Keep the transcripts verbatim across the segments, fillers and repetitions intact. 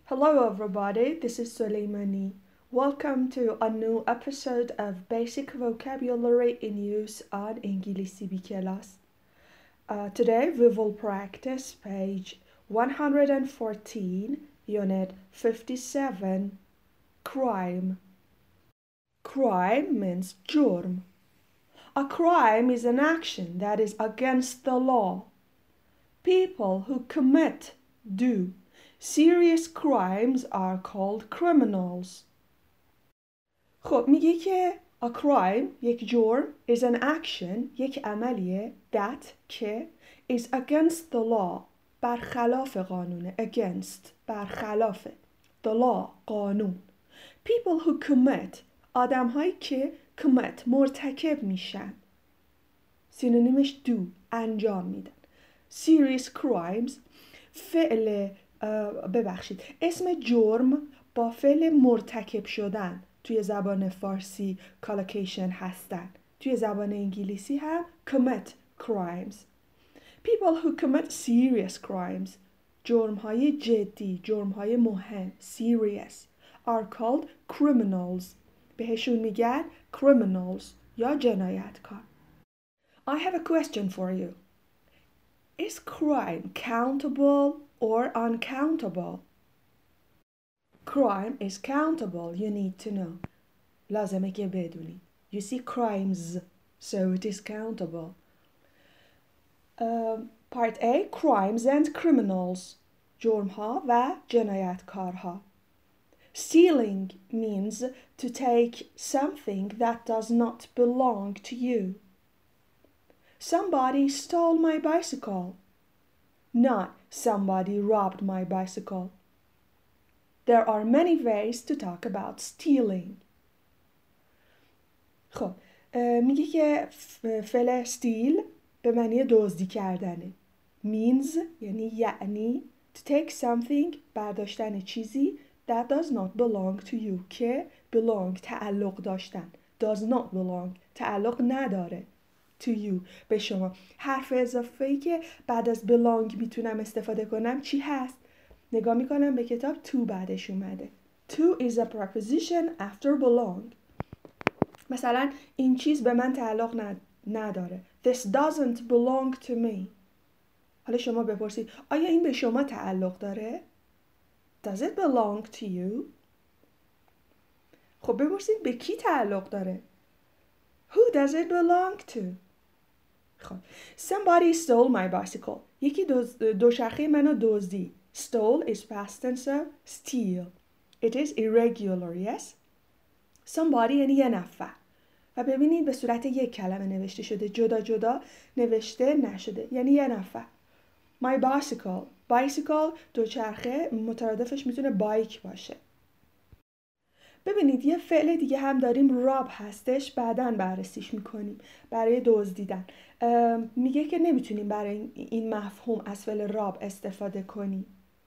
Hello everybody, this is Soleimani. Welcome to a new episode of Basic Vocabulary in Use on English B class. Uh, today we will practice page one hundred fourteen, unit fifty-seven, crime. Crime means jurm. A crime is an action that is against the law. People who commit, do, serious crimes are called criminals. خب میگه که a crime یک جرم is an action یک عملیه that که is against the law برخلاف قانونه against برخلاف the law قانون. People who commit آدم هایی که commit مرتکب میشن سینونیمش do انجام میدن. Serious crimes فعل ببخشید اسم جرم با فعل مرتکب شدن توی زبان فارسی collocation هستن. توی زبان انگلیسی هم commit crimes. People who commit serious crimes جرم های جدی جرم های مهم serious are called criminals بهشون میگن criminals یا جنایتکار. I have a question for you. Is crime countable or uncountable? Crime is countable, you need to know. لازمه که بدونی. You see crimes, so it is countable. Um, part A, crimes and criminals. جرمها و جنایتکارها. Stealing means to take something that does not belong to you. Somebody stole my bicycle. Not somebody robbed my bicycle. There are many ways to talk about stealing. خب میگه که فعل steal به معنی دزدی کردنه. Means یعنی یعنی to take something برداشتن چیزی that does not belong to you که belong تعلق داشتن does not belong تعلق نداره to you به شما. حرف اضافه‌ای که بعد از belong میتونم استفاده کنم چی هست؟ نگاه میکنم به کتاب to بعدش اومده. To is a preposition after belong. مثلا این چیز به من تعلق نداره. This doesn't belong to me. حالا شما بپرسید آیا این به شما تعلق داره؟ Does it belong to you? خب بپرسید به کی تعلق داره؟ Who does it belong to? خب Somebody stole my bicycle. یکی دوچرخه منو دزدید. Stole is past tense of steal. It is irregular, yes? Somebody یعنی یه نفر. و ببینید به صورت یک کلمه نوشته شده. جدا جدا نوشته نشده. یعنی یه نفر. My bicycle. Bicycle دوچرخه مترادفش میتونه بایک باشه. ببینید یه فعل دیگه هم داریم راب هستش بعداً بررسیش میکنیم برای دزدیدن. میگه که نمیتونیم برای این مفهوم از فعل راب استفاده کنیم.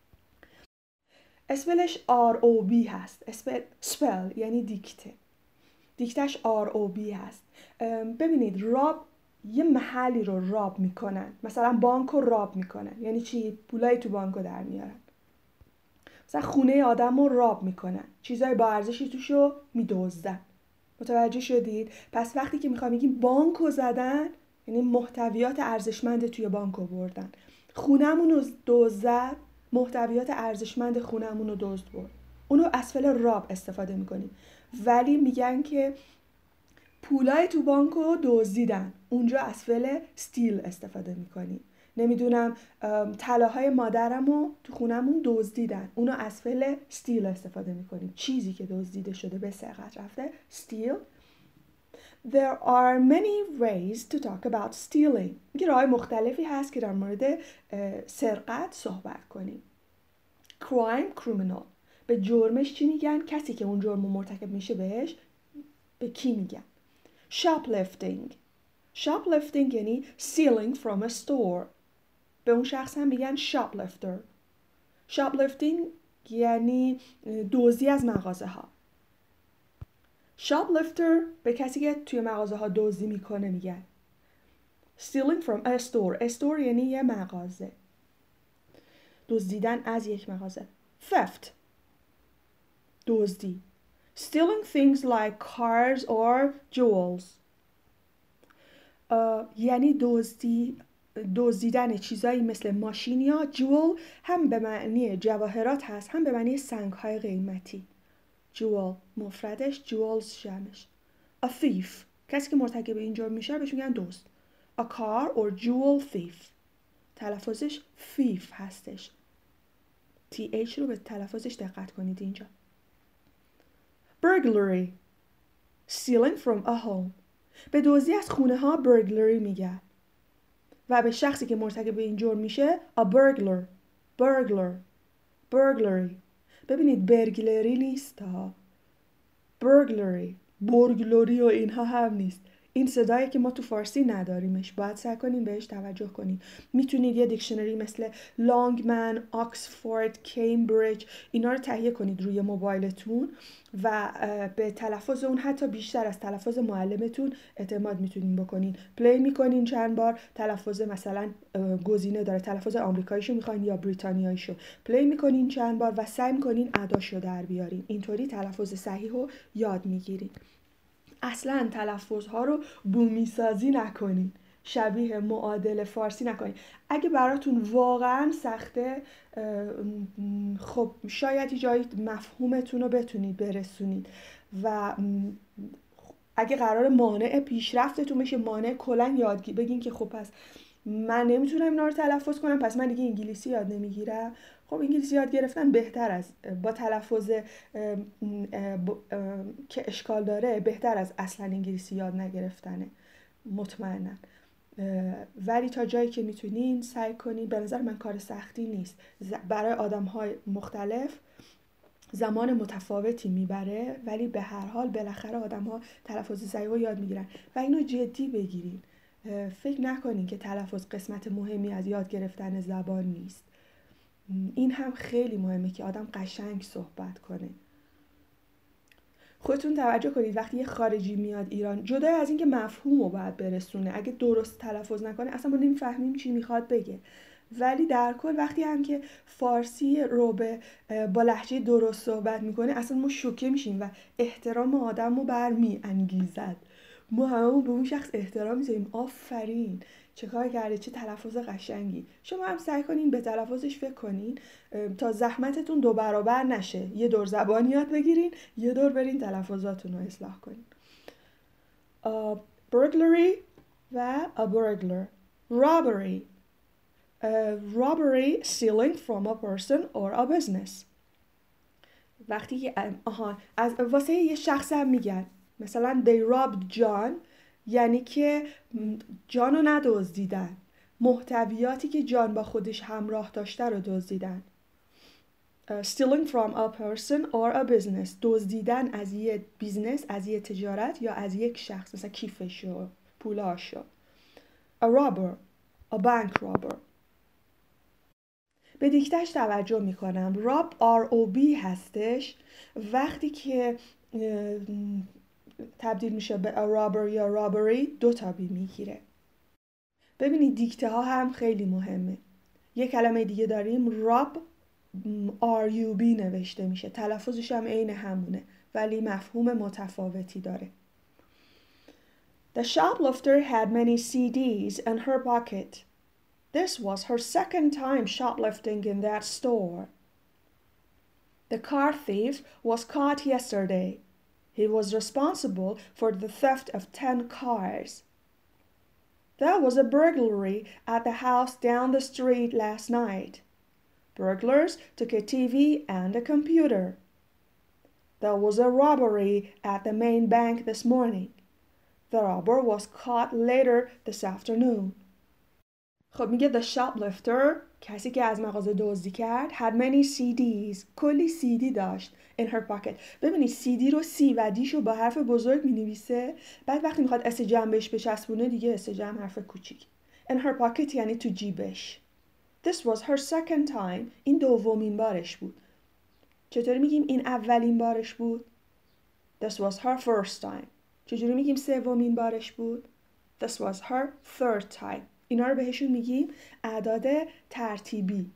اسپلش آر او بی هست. اسپل سپل یعنی دیکته. دیکتش آر او بی هست. ببینید راب یه محلی رو راب میکنن. مثلا بانک رو راب میکنن. یعنی چی؟ پولای تو بانک رو در میارن. مثلا خونه آدم رو راب میکنن. چیزای با ارزشی توش رو میدزدن. متوجه شدید؟ پس وقتی که میخوام بگیم بانک رو زدن یعنی محتویات ارزشمند توی بانک رو بردن. خونمون رو دزد محتویات ارزشمند خونمون رو دزد برد. اونو از فعل راب استفاده میکنیم. ولی میگن که پولای تو بانک رو دزدیدن. اونجا از فعل steal استفاده میکنیم. نمیدونم طلاهای مادرم رو تو خونمون دزدیدن. اونو از فعل steal استفاده میکنیم. چیزی که دزدیده شده به سرقت رفته steal. There are many ways to talk about stealing. میگه راه‌های مختلفی هست که در مورد سرقت صحبت کنیم. Crime, criminal. به جرمش چی میگن؟ کسی که اون جرم مرتکب میشه بهش به کی میگن؟ Shoplifting. Shoplifting یعنی stealing from a store. به اون شخص هم میگن shoplifter. Shoplifting یعنی دزدی از مغازه ها. Shoplifter به کسی که توی مغازه ها دزدی میکنه میگن. Stealing from a store. A store یعنی یه مغازه. دزدیدن از یک مغازه. Theft دزدی. Stealing things like cars or jewels. یعنی دزدی دزدیدن چیزایی مثل ماشین یا جول، هم به معنی جواهرات هست هم به معنی سنگ‌های قیمتی. جول مفردش، جولز جمعش. A thief کسی که مرتکب این جرم میشه بهش میگن دزد. A car or jewel thief تلفظش thief هستش. تی اچ رو به تلفظش دقت کنید اینجا. Burglary stealing from a home. به دزدی از خونه ها burglary میگن و به شخصی که مرتکب این جرم میشه a burglar. burglar burglary. ببینید برگلری نیست ها، burglary برگلوری و اینها هم نیست. این صدایی که ما تو فارسی نداریمش، باید سعی کنین بهش توجه کنین. میتونید یه دیکشنری مثل لانگمن، آکسفورد، کمبریج اینا رو تهیه کنید روی موبایلتون و به تلفظ اون حتی بیشتر از تلفظ معلمتون اعتماد میتونین بکنین. پلی میکنین چند بار، تلفظ مثلا گزینه داره تلفظ آمریکاییشو میخواین یا بریتانیاییشو، پلی میکنین چند بار و سعی میکنین اداشو در بیارین. اینطوری تلفظ صحیح رو یاد میگیرین. اصلا تلفظها رو بومی سازی نکنین، شبیه معادل فارسی نکنین. اگه براتون واقعا سخته، خب شاید یه جایی مفهومتون رو بتونید برسونید و اگه قرار مانع پیشرفتتون بشه، مانع کلا یادگیری، بگین که خب پس من نمیتونم اینا رو تلفظ کنم، پس من دیگه انگلیسی یاد نمیگیرم. خب انگلیسی یاد گرفتن بهتر از با تلفظ که اشکال داره بهتر از اصلا انگلیسی یاد نگرفتنه، مطمئنا. ولی تا جایی که میتونین سعی کنین. به نظر من کار سختی نیست، برای آدم‌های مختلف زمان متفاوتی میبره، ولی به هر حال بالاخره آدم‌ها تلفظ صحیح رو یاد میگیرن و اینو جدی بگیرین. فکر نکنین که تلفظ قسمت مهمی از یاد گرفتن زبان نیست. این هم خیلی مهمه که آدم قشنگ صحبت کنه. خودتون توجه کنید وقتی یه خارجی میاد ایران، جدا از اینکه مفهوم رو باید برسونه، اگه درست تلفظ نکنه اصلا ما نمیفهمیم چی میخواد بگه، ولی در کل وقتی هم که فارسی رو به با لهجه درست صحبت میکنه اصلا ما شوکه میشیم و احترام آدم رو برمی انگیزد. ما همه به اون شخص احترام میذاریم، آفرین چه کار کرده، چه تلفظ قشنگی. شما هم سعی کنین به تلفظش فکر کنین تا زحمتتون دو برابر نشه. یه دور زبان یاد بگیرین، یه دور برین تلفظاتون رو اصلاح کنین. uh, burglary و a burglar. robbery uh, robbery stealing from a person or a business. وقتی آها از واسه یه شخص هم میگن مثلا they robbed John، یعنی که جان رو ندزدیدن، محتویاتی که جان با خودش همراه داشته رو دزدیدن. uh, stealing from a person or a business دزدیدن از یه بیزنس، از یه تجارت یا از یک شخص، مثلا کیفشو، پولاشو. a robber a bank robber. به دیکتش توجه میکنم. راب آر او بی هستش وقتی که تبدیل میشه به a robber یا robbery دو تا بی میگیره. ببینید دیکته ها هم خیلی مهمه. یه کلمه دیگه داریم راب آر یو بی نوشته میشه، تلفظش هم عین همونه ولی مفهوم متفاوتی داره. The shoplifter had many C Ds in her pocket. This was her second time shoplifting in that store. The car thief was caught yesterday. He was responsible for the theft of ten cars. There was a burglary at the house down the street last night. Burglars took a T V and a computer. There was a robbery at the main bank this morning. The robber was caught later this afternoon. خب میگه the shoplifter، کسی که از مغازه دزدی کرد، had many C Ds، کلی سی دی داشت in her pocket. ببینید سی دی رو سی و دیشو با حرف بزرگ می نویسه، بعد وقتی میخواد اس جمعش بچسبونه دیگه اس جمع حرف کوچیک. in her pocket یعنی تو جیبش. This was her second time، این دومین بارش بود. چطوری میگیم این اولین بارش بود؟ This was her first time. چجوری میگیم سومین بارش بود؟ This was her third time. اینا رو بهشون میگیم اعداد ترتیبی.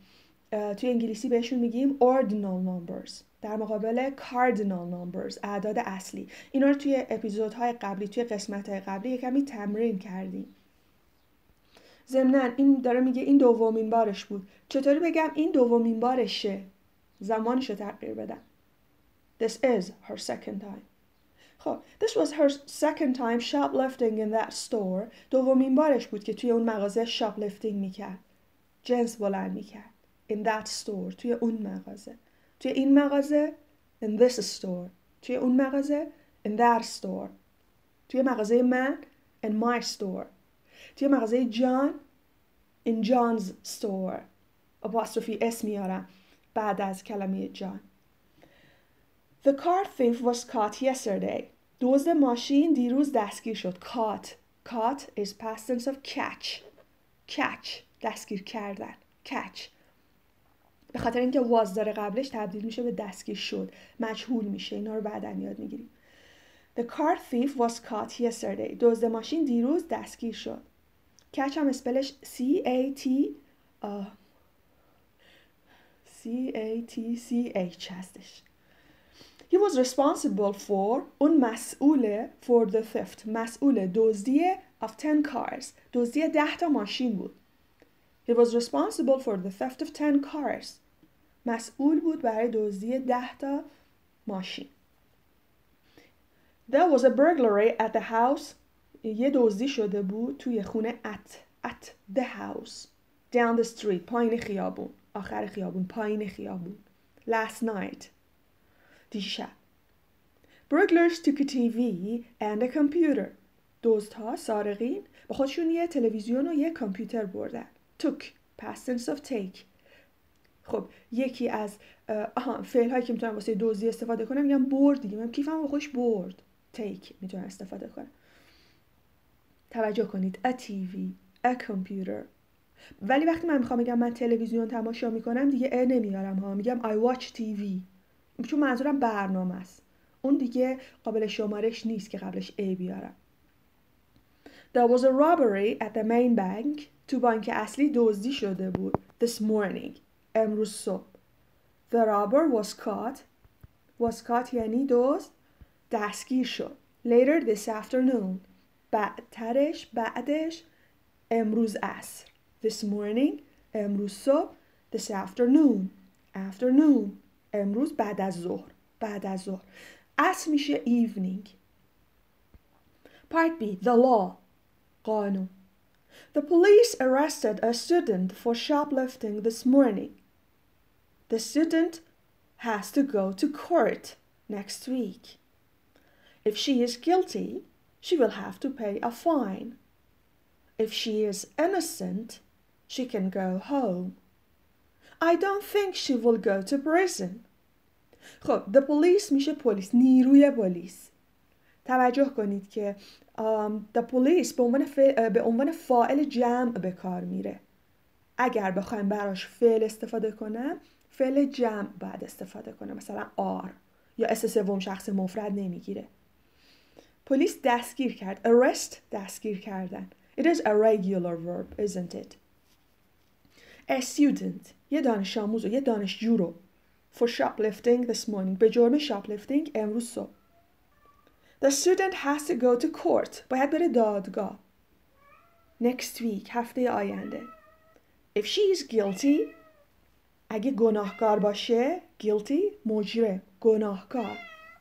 توی انگلیسی بهشون میگیم ordinal numbers در مقابل cardinal numbers، اعداد اصلی. اینا رو توی اپیزودهای قبلی، توی قسمت‌های قبلی کمی تمرین کردیم. ضمناً این داره میگه این دومین بارش بود. چطوری بگم این دومین بارشه؟ زمانشو تغییر بدم. This is her second time. خب this was her second time shoplifting in that store. دومین بارش بود که توی اون مغازه shoplifting میکرد، جنس بلند میکرد. In that store، توی اون مغازه. توی این مغازه in this store. توی اون مغازه in that store. توی مغازه من in my store. توی مغازه جان in John's store. apostrophe اس میارم بعد از کلمه جان. The car thief was caught yesterday. دزد ماشین دیروز دستگیر شد. Caught. Caught is past tense of catch. Catch. دستگیر کردن. Catch. به خاطر اینکه was داره قبلش تبدیل میشه به دستگیر شد. مجهول میشه. اینا رو بعداً یاد میگیریم. The car thief was caught yesterday. دزد ماشین دیروز دستگیر شد. Catch هم اسپلش C A T uh, C A T C H هستش. He was responsible for اون مسئوله for the theft مسئول دزدی of ten cars دزدی ده تا ماشین بود. He was responsible for the theft of ten cars مسئول بود برای دزدی ده تا ماشین. There was a burglary at the house یه دزدی شده بود توی خونه at at the house down the street پایین خیابون آخر خیابون پایین خیابون last night دیشب. Burglars took a T V and a computer. دزدها سارقین با خودشون یه تلویزیون و یه کامپیوتر بردن. took past tense of take. خب یکی از آها فعل هایی که میتونم واسه دزدی استفاده کنم میگم برد دیگه. من کیفم با خودش برد. take میتونم استفاده کنم. توجه کنید a T V a computer. ولی وقتی من میخوام بگم من تلویزیون تماشا میکنم دیگه ا نمیارم ها، میگم I watch T V چون منظورم برنامه است. اون دیگه قابل شمارش نیست که قبلش A بیارم. There was a robbery at the main bank. تو بانک اصلی دزدی شده بود. This morning. امروز صبح. The robber was caught. Was caught یعنی دزد دستگیر شد. Later this afternoon. بعدترش بعدش امروز عصر. This morning. امروز صبح. This afternoon. Afternoon. امروز بعد از ظهر. بعد از ظهر. عصر میشه evening. Part B. The law. قانون. The police arrested a student for shoplifting this morning. The student has to go to court next week. If she is guilty, she will have to pay a fine. If she is innocent, she can go home. I don't think she will go to prison. خب the police میشه پلیس، نیروی پلیس. توجه کنید که um, the police به عنوان, به عنوان فاعل جمع به کار میره. اگر بخوایم براش فعل استفاده کنم فعل جمع باید استفاده کنم، مثلا are یا اس سوم شخص مفرد نمیگیره. پلیس دستگیر کرد. arrest دستگیر کردن. It is a regular verb, isn't it? A student یه دانش آموز و یه دانشجو رو for shoplifting this morning به جرم shoplifting امروز صبح. The student has to go to court. باید بره دادگاه. Next week. هفته آینده. If she is guilty. اگه گناهکار باشه. Guilty. مجرم. گناهکار.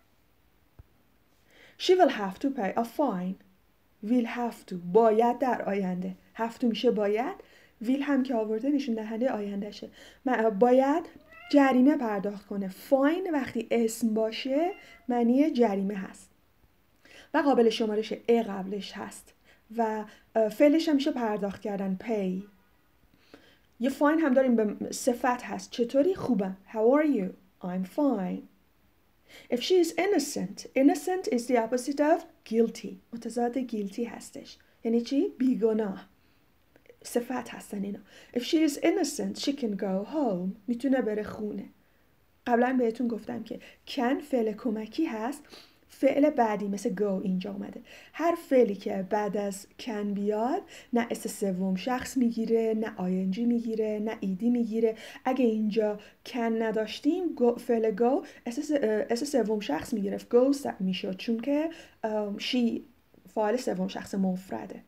She will have to pay a fine. Will have to. باید در آینده. have to میشه باید. will هم که آورده نشون دهنده آیندهشه. باید جریمه پرداخت کنه. fine وقتی اسم باشه معنی جریمه هست. و قابل شمارش ا قبلش هست و فعلش هم میشه پرداخت کردن pay. یه fine هم داریم به صفت هست. چطوری؟ خوبم. How are you? I'm fine. If she is innocent. Innocent is the opposite of guilty. متضاد guilty هستش. یعنی چی؟ بیگناه. صفت هستن اینا. If she is innocent, she can go home. میتونه بره خونه. قبلا بهتون گفتم که can فعل کمکی هست. فعل بعدی مثل go اینجا اومده. هر فعلی که بعد از can بیاد نه اس سوم شخص میگیره، نه ing میگیره، نه ed میگیره. اگه اینجا can نداشتیم فعل go اس سوم شخص میگرفت، goes میشد، چون که she فاعل سوم شخص مفرده.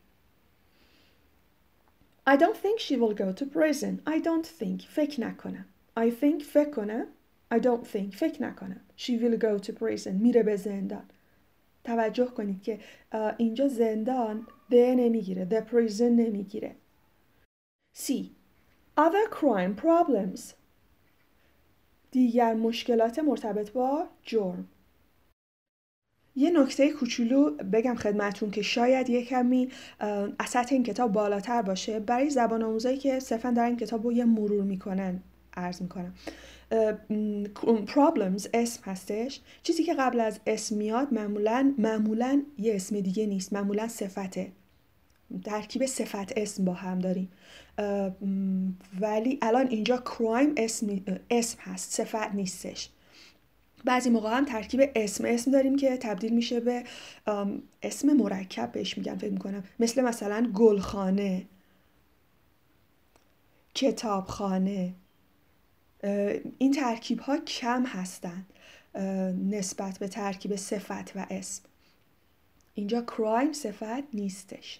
I don't think she will go to prison. I don't think. فکر نکنم. I think فکر کنم. I don't think. فکر نکنم. She will go to prison. میره به زندان. توجه کنید که اینجا زندان the نمیگیره. The prison نمیگیره. C. Other crime problems. دیگر مشکلات مرتبط با جرم. یه نکته کوچولو بگم خدمتون که شاید یه کمی از سطح این کتاب بالاتر باشه. برای زبان آموزایی که صرفا دارن این کتاب رو یه مرور میکنن عرض میکنم. problems اسم هستش. چیزی که قبل از اسم میاد معمولا معمولا یه اسم دیگه نیست، معمولا صفته. ترکیب صفت اسم با هم داریم، ولی الان اینجا crime اسم اسم هست، صفت نیستش. بعضی موقع هم ترکیب اسم اسم داریم که تبدیل میشه به اسم مرکب بهش میگن فکر میکنم، مثل مثلا گلخانه، کتابخانه. این ترکیب ها کم هستن نسبت به ترکیب صفت و اسم. اینجا crime صفت نیستش.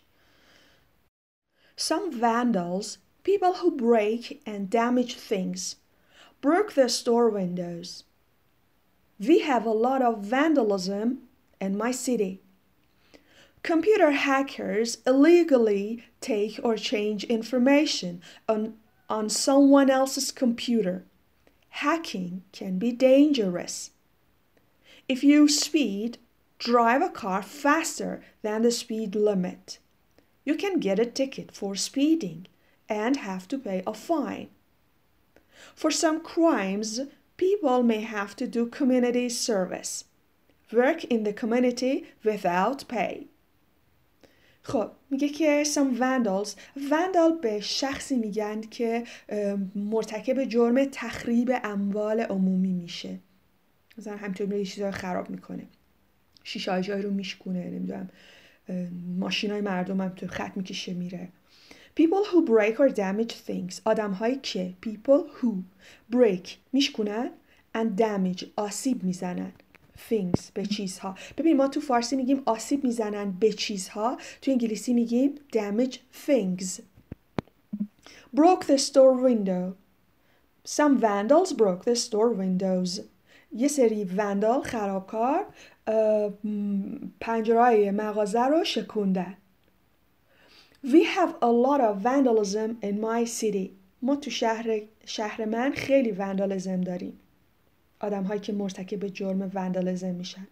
Some vandals, people who break and damage things, broke the store windows. We have a lot of vandalism in my city. Computer hackers illegally take or change information on, on someone else's computer. Hacking can be dangerous. If you speed, drive a car faster than the speed limit. You can get a ticket for speeding and have to pay a fine. For some crimes, people may have to do community service, work in the community without pay. خب میگه که some vandals. vandal به شخصی میگن که مرتکب جرم تخریب اموال عمومی میشه. مثلا همینطور میره چیزا رو خراب میکنه، شیشه جای رو میشکونه، نمیدونم ماشینای مردم هم تو خط میکشه میره. People who break or damage things. آدم هایی که people who break میشکنن and damage آسیب میزنن things به چیزها. ببین ما تو فارسی میگیم آسیب میزنن به چیزها، تو انگلیسی میگیم damage things. Broke the store window. Some vandals broke the store windows. یه سری وندال خرابکار پنجره‌های مغازه رو شکوندن. We have a lot of vandalism in my city. ما تو شهر شهر من خیلی وندالیزم داریم. آدم هایی که مرتکب جرم وندالیزم میشن.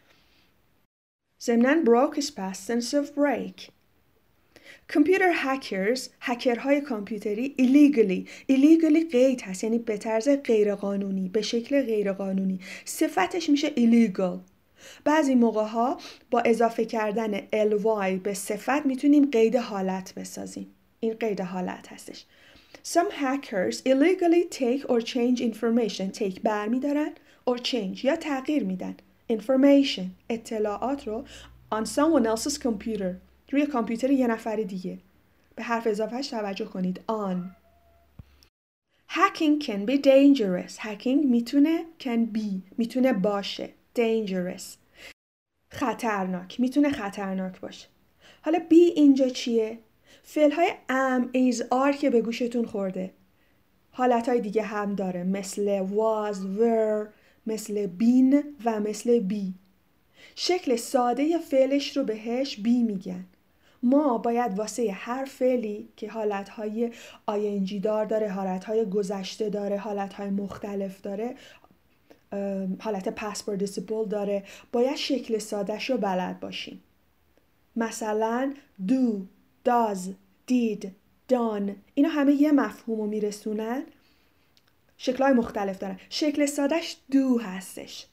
ضمناً broke is past tense of break. Computer hackers، هکرهای کامپیوتری illegally. illegally قید هست، یعنی به طرز غیرقانونی، به شکل غیرقانونی. صفتش میشه illegal. بعضی موقع ها با اضافه کردن ly به صفت میتونیم قید حالت بسازیم. این قید حالت هستش. Some hackers illegally take or change information. take برمی دارن or change یا تغییر میدن information اطلاعات رو on someone else's computer روی کامپیوتر یه نفر دیگه. به حرف اضافهش توجه کنید on. Hacking can be dangerous. hacking میتونه can be میتونه باشه dangerous خطرناک، میتونه خطرناک باشه. حالا be اینجا چیه؟ فعل‌های am is are که به گوشتون خورده. حالتهای دیگه هم داره مثل was were، مثل been و مثل be. شکل ساده فعلش رو بهش be میگن. ما باید واسه هر فعلی که حالتهای ing دار داره، حالتهای گذشته داره، حالتهای مختلف داره، حالت past participle داره، باید شکل سادهش رو بلد باشیم. مثلا do، does، did، done، اینا همه یه مفهوم رو میرسونن، شکلهای مختلف دارن. شکل سادهش do هستش.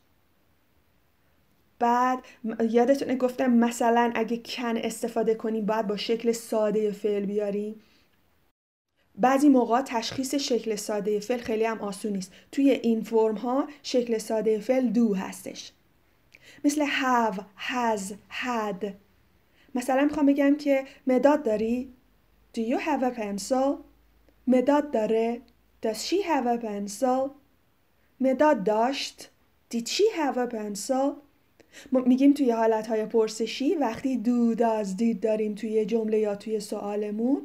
بعد یادتونه گفتم مثلا اگه can استفاده کنیم باید با شکل ساده فعل بیاریم. بعضی موقع تشخیص شکل ساده فعل خیلی هم آسون نیست. توی این فرم ها شکل ساده فعل do هستش. مثل have, has, had. مثلا میخوام بگم که مداد داری؟ Do you have a pencil? مداد داره؟ Does she have a pencil? مداد داشت؟ Did she have a pencil? ما میگیم توی حالتهای پرسشی وقتی do, does, did داریم توی جمله یا توی سوالمون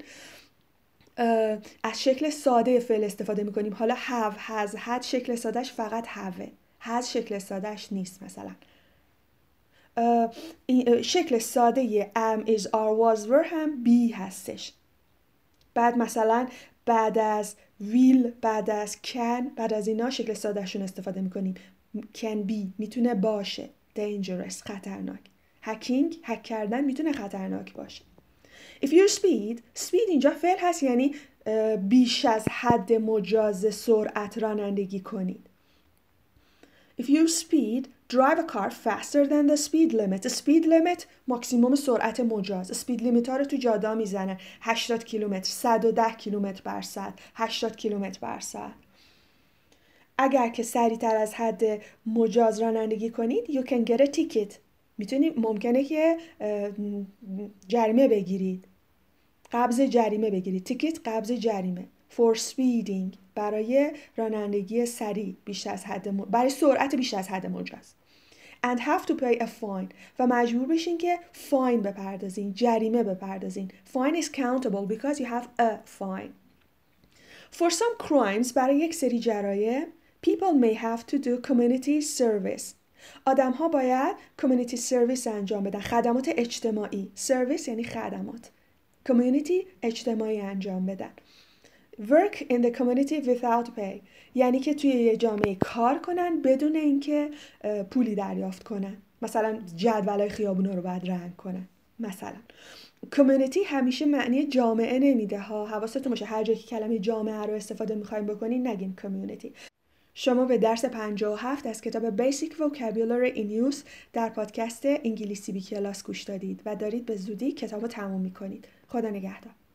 از شکل ساده فعل استفاده میکنیم. حالا have, has, had شکل سادهش فقط have. has شکل سادهش نیست. مثلا شکل ساده am, is, are, was, were هم be هستش. بعد مثلا بعد از will، بعد از can، بعد از اینا شکل سادهشون استفاده میکنیم. can be میتونه باشه. dangerous خطرناک. hacking هک کردن میتونه خطرناک باشه. if you speed speed اینجا فعل هست، یعنی بیش از حد مجاز سرعت رانندگی کنید. if you speed drive a car faster than the speed limit. the speed limit ماکسیموم سرعت مجاز. speed limit ها رو تو جاده میزنن. هشتاد کیلومتر، صد و ده کیلومتر بر ساعت، هشتاد کیلومتر بر ساعت. اگر که سریعتر از حد مجاز رانندگی کنید you can get a ticket. میتونید ممکنه که جریمه بگیرید. قبض جریمه بگیرید. تیکت قبض جریمه. for speeding برای رانندگی سریع بیش از حد م... برای سرعت بیش از حد مجاز. and have to pay a fine و مجبور بشین که fine بپردازین، جریمه بپردازین. fine is countable because you have a fine. for some crimes برای یک سری جرایم people may have to do community service. آدم ها باید community service انجام بدن. خدمات اجتماعی. service یعنی خدمات. community اجتماعی انجام بدن. work in the community without pay یعنی که توی یه جامعه کار کنن بدون اینکه پولی دریافت کنن. مثلا جدولای خیابونا رو باید رنگ کنن. مثلا community همیشه معنی جامعه نمیده ها. حواستون باشه هر جایی که کلمه جامعه رو استفاده می‌خوایم بکنین نگین community. شما به درس پنجاه و هفت از کتاب Basic Vocabulary in Use در پادکست انگلیسی بی کلاس گوش دادید و دارید به زودی کتاب رو تموم می‌کنید. خدا نگهدار.